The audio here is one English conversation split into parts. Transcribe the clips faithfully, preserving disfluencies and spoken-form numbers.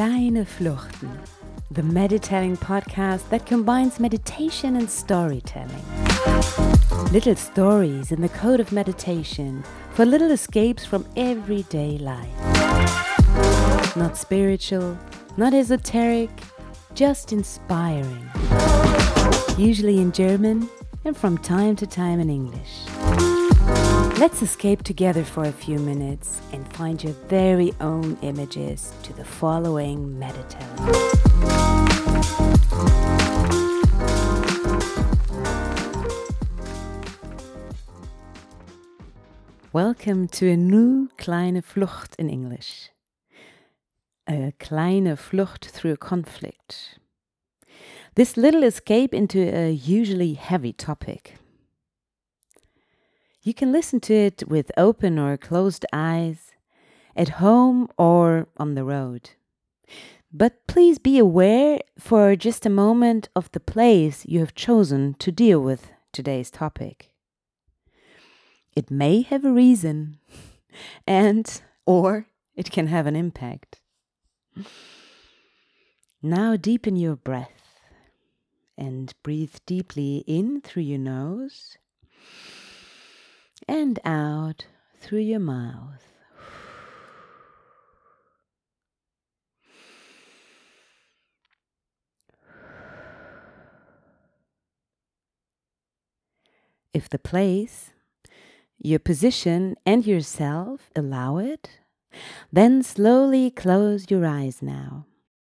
Kleine Fluchten, the meditating podcast that combines meditation and storytelling. Little stories in the code of meditation for little escapes from everyday life. Not spiritual, not esoteric, just inspiring. Usually in German and from time to time in English. Let's escape together for a few minutes and find your very own images to the following meditating. Welcome to a new kleine Flucht in English. A kleine Flucht through a conflict. This little escape into a usually heavy topic. You can listen to it with open or closed eyes, at home or on the road. But please be aware for just a moment of the place you have chosen to deal with today's topic. It may have a reason, and or it can have an impact. Now deepen your breath and breathe deeply in through your nose and out through your mouth. If the place, your position and yourself allow it, then slowly close your eyes now.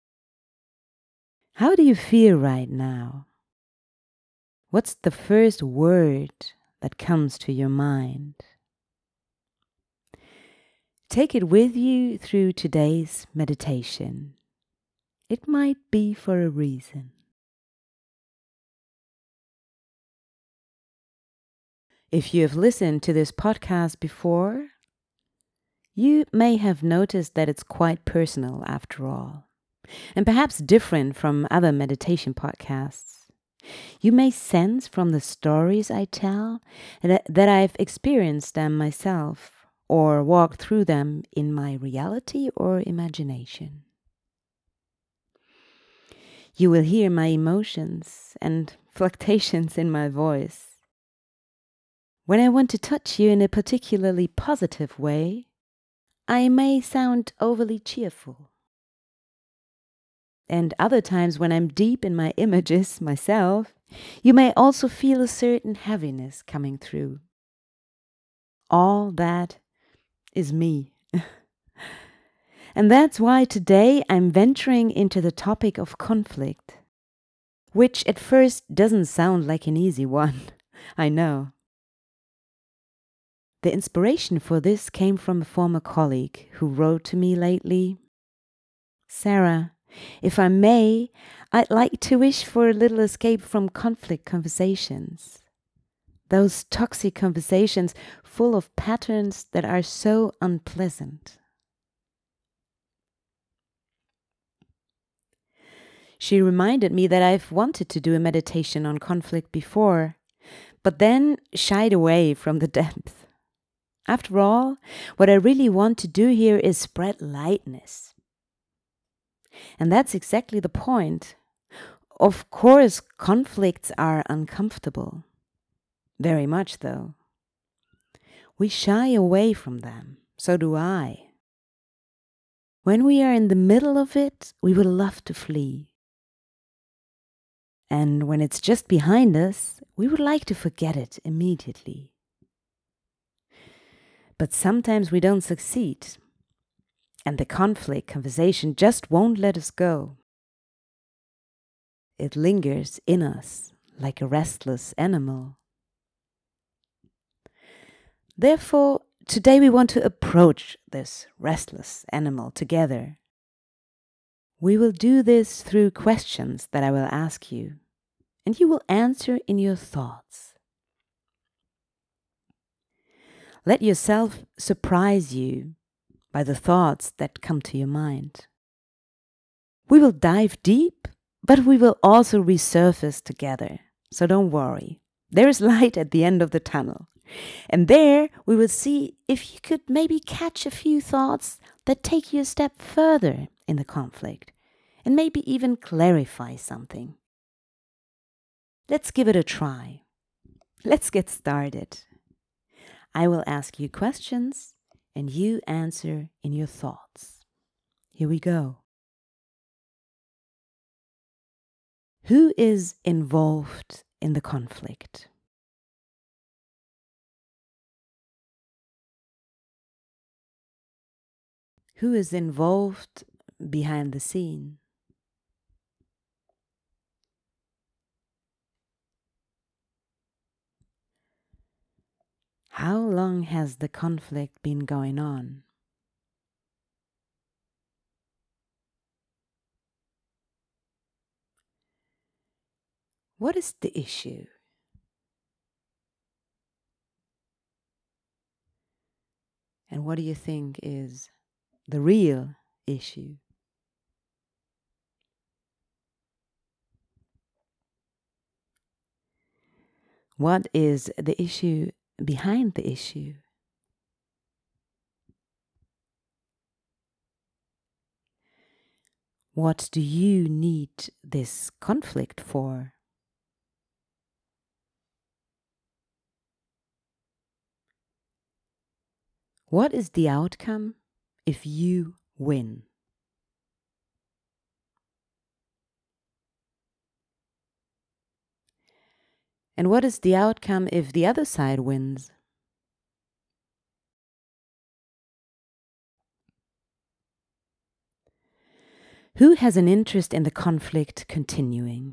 How do you feel right now? What's the first word that comes to your mind? Take it with you through today's meditation. It might be for a reason. If you have listened to this podcast before, you may have noticed that it's quite personal after all, and perhaps different from other meditation podcasts. You may sense from the stories I tell that, that I've experienced them myself or walked through them in my reality or imagination. You will hear my emotions and fluctuations in my voice. When I want to touch you in a particularly positive way, I may sound overly cheerful. And other times when I'm deep in my images myself, you may also feel a certain heaviness coming through. All that is me. And that's why today I'm venturing into the topic of conflict, which at first doesn't sound like an easy one, I know. The inspiration for this came from a former colleague who wrote to me lately, "Sarah, if I may, I'd like to wish for a little escape from conflict conversations. Those toxic conversations full of patterns that are so unpleasant." She reminded me that I've wanted to do a meditation on conflict before, but then shied away from the depth. After all, what I really want to do here is spread lightness. And that's exactly the point. Of course, conflicts are uncomfortable. Very much, though. We shy away from them. So do I. When we are in the middle of it, we would love to flee. And when it's just behind us, we would like to forget it immediately. But sometimes we don't succeed. And the conflict conversation just won't let us go. It lingers in us like a restless animal. Therefore, today we want to approach this restless animal together. We will do this through questions that I will ask you, and you will answer in your thoughts. Let yourself surprise you by the thoughts that come to your mind. We will dive deep, but we will also resurface together. So don't worry. There is light at the end of the tunnel. And there we will see if you could maybe catch a few thoughts that take you a step further in the conflict and maybe even clarify something. Let's give it a try. Let's get started. I will ask you questions and you answer in your thoughts. Here we go. Who is involved in the conflict? Who is involved behind the scene? How long has the conflict been going on? What is the issue? And what do you think is the real issue? What is the issue behind the issue? What do you need this conflict for? What is the outcome if you win? And what is the outcome if the other side wins? Who has an interest in the conflict continuing?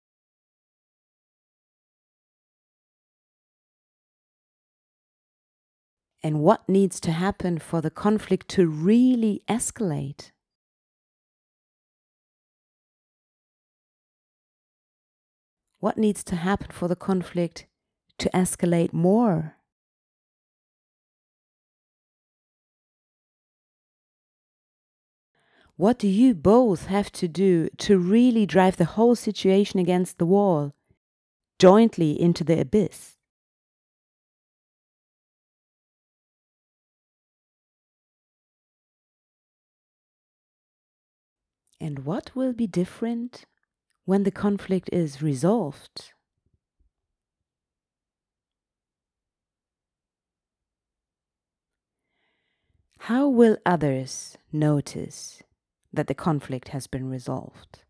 And what needs to happen for the conflict to really escalate? What needs to happen for the conflict to escalate more? What do you both have to do to really drive the whole situation against the wall, jointly into the abyss? And what will be different when the conflict is resolved? How will others notice that the conflict has been resolved?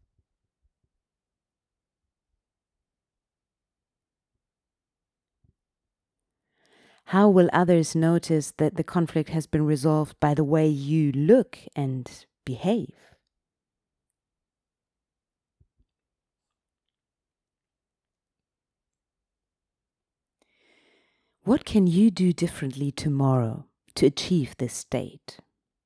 How will others notice that the conflict has been resolved by the way you look and behave? What can you do differently tomorrow to achieve this state?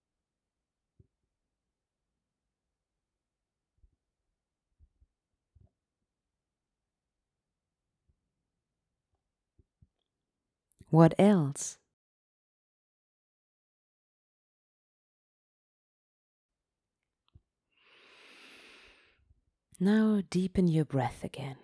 What else? Now deepen your breath again.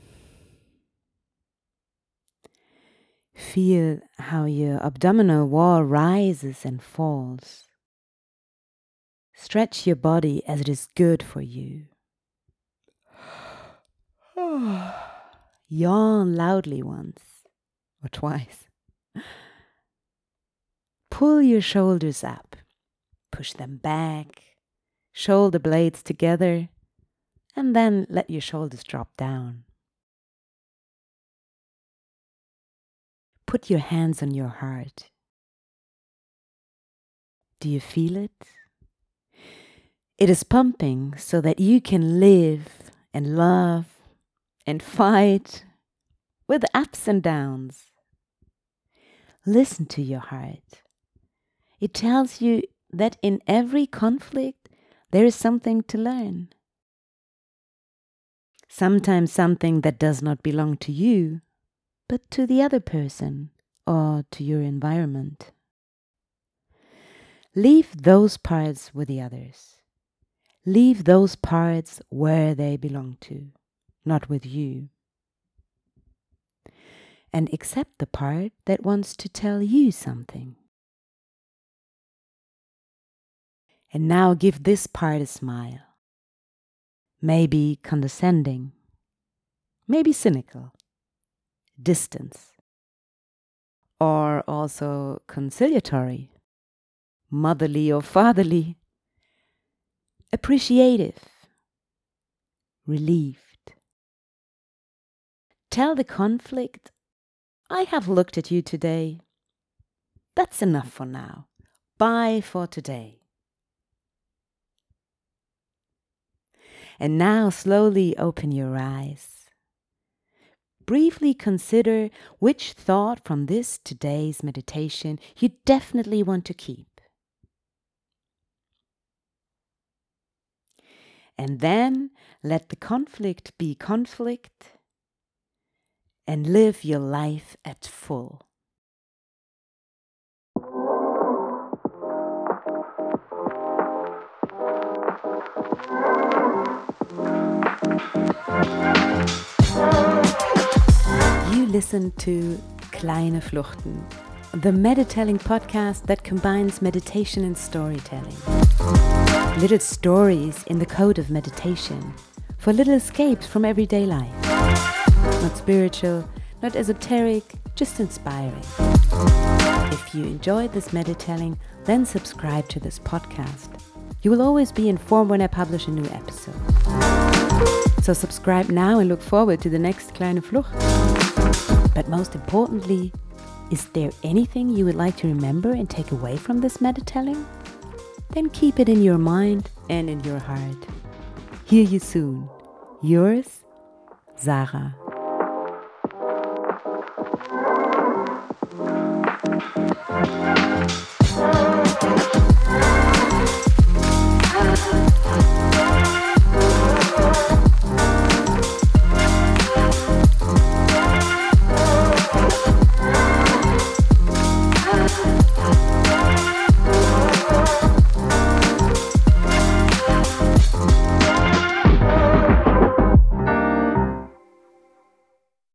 Feel how your abdominal wall rises and falls. Stretch your body as it is good for you. Yawn loudly once or twice. Pull your shoulders up. Push them back. Shoulder blades together. And then let your shoulders drop down. Put your hands on your heart. Do you feel it? It is pumping so that you can live and love and fight with ups and downs. Listen to your heart. It tells you that in every conflict there is something to learn. Sometimes something that does not belong to you, but to the other person or to your environment. Leave those parts with the others. Leave those parts where they belong to, not with you. And accept the part that wants to tell you something. And now give this part a smile. Maybe condescending, maybe cynical, distance, or also conciliatory, motherly or fatherly, appreciative, relieved. Tell the conflict, I have looked at you today. That's enough for now. Bye for today. And now slowly open your eyes. Briefly consider which thought from this today's meditation you definitely want to keep. And then let the conflict be conflict and live your life at full. You listen to Kleine Fluchten, the Meditelling podcast that combines meditation and storytelling. Little stories in the code of meditation for little escapes from everyday life. Not spiritual, not esoteric, just inspiring. If you enjoyed this meditelling, then subscribe to this podcast. You will always be informed when I publish a new episode. So subscribe now and look forward to the next Kleine Flucht. But most importantly, is there anything you would like to remember and take away from this meditelling? Then keep it in your mind and in your heart. Hear you soon. Yours, Sarah. Thank you.